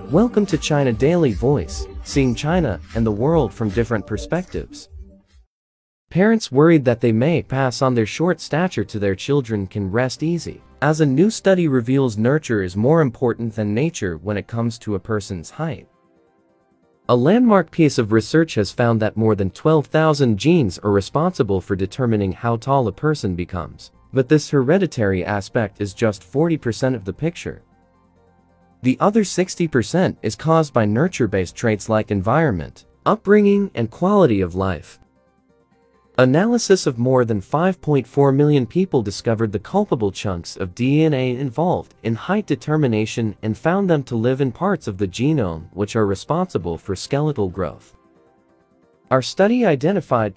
Welcome to China Daily Voice, seeing China and the world from different perspectives. Parents worried that they may pass on their short stature to their children can rest easy, as a new study reveals nurture is more important than nature when it comes to a person's height. A landmark piece of research has found that more than 12,000 genes are responsible for determining how tall a person becomes, but this hereditary aspect is just 40% of the picture. The other 60% is caused by nurture-based traits like environment, upbringing, and quality of life. Analysis of more than 5.4 million people discovered the culpable chunks of DNA involved in height determination and found them to live in parts of the genome which are responsible for skeletal growth. Our study identified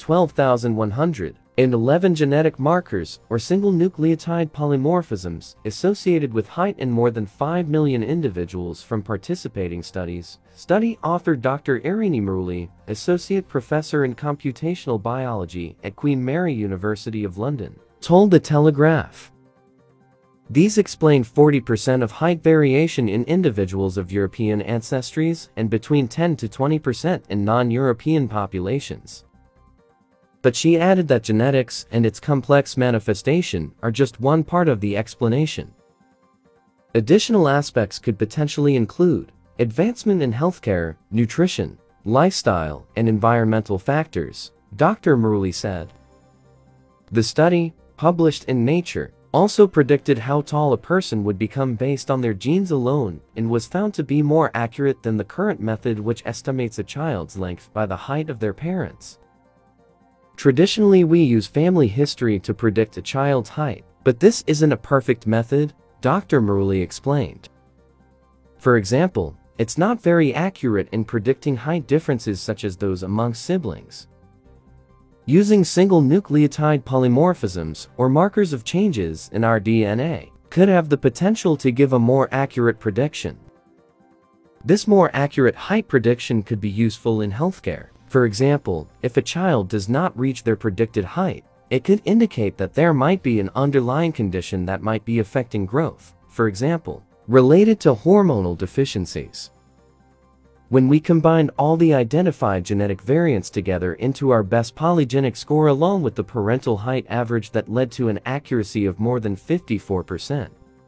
12,111 genetic markers or single nucleotide polymorphisms associated with height in more than 5 million individuals from participating studies. Study author Dr. Irini Muruli, Associate Professor in Computational Biology at Queen Mary University of London, told The Telegraph. These explain 40% of height variation in individuals of European ancestries and between 10 to 20% in non-European populations. But she added that genetics and its complex manifestation are just one part of the explanation. Additional aspects could potentially include advancement in healthcare, nutrition, lifestyle, and environmental factors, Dr. Muruli said. The study, published in Nature, also predicted how tall a person would become based on their genes alone and was found to be more accurate than the current method which estimates a child's length by the height of their parents. Traditionally, we use family history to predict a child's height, but this isn't a perfect method, Dr. Muruli explained. For example, it's not very accurate in predicting height differences such as those among siblings. Using single nucleotide polymorphisms or markers of changes in our DNA could have the potential to give a more accurate prediction. This more accurate height prediction could be useful in healthcare. For example, if a child does not reach their predicted height, it could indicate that there might be an underlying condition that might be affecting growth, for example, related to hormonal deficiencies. When we combined all the identified genetic variants together into our best polygenic score along with the parental height average, that led to an accuracy of more than 54%.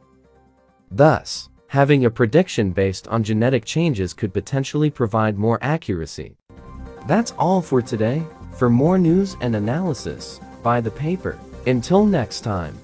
Thus, having a prediction based on genetic changes could potentially provide more accuracy. That's all for today. For more news and analysis, buy the paper. Until next time.